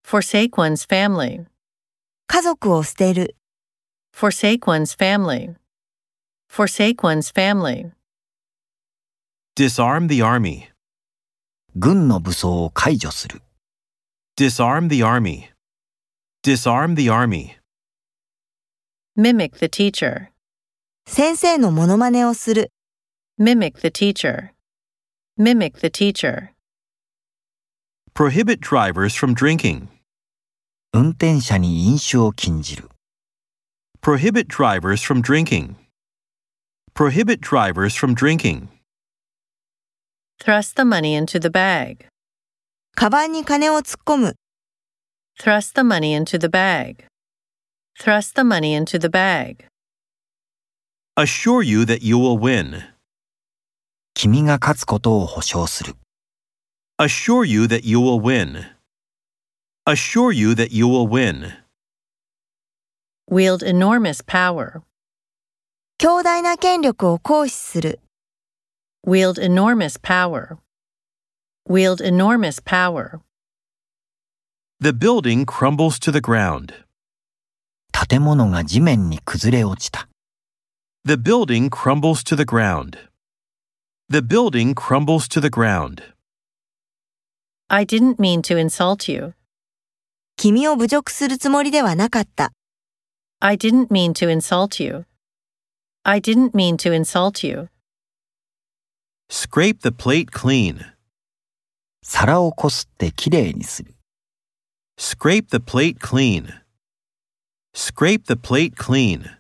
forsake one's family, 家族を捨てる、 forsake one's family, forsake one's family. Disarm the army. 軍の武装を解除する。 Disarm the army. Disarm the army. Mimic the teacher, 先生のモノマネをする、 mimic the teacher, mimic the teacher. Prohibit drivers from drinking. 運転者に飲酒を禁じる。 Prohibit drivers from drinking. Prohibit drivers from drinking. Thrust the money into the bag, カバンに金を突っ込む、 thrust the money into the bag, thrust the money into the bag. Assure you that you will win. 君が勝つことを保証する。 Assure you that you will win. Assure you that you will win. Wield enormous power, 強大な権力を行使する、 wield enormous power, wield enormous power. The building crumbles to the ground. 建物が地面に崩れ落ちた。 The building crumbles to the ground. The building crumbles to the ground. I didn't mean to insult you. 君を侮辱するつもりではなかった。 I didn't mean to insult you. I didn't mean to insult you. Scrape the plate clean. 皿をこすってきれいにする。 Scrape the plate clean. Scrape the plate clean.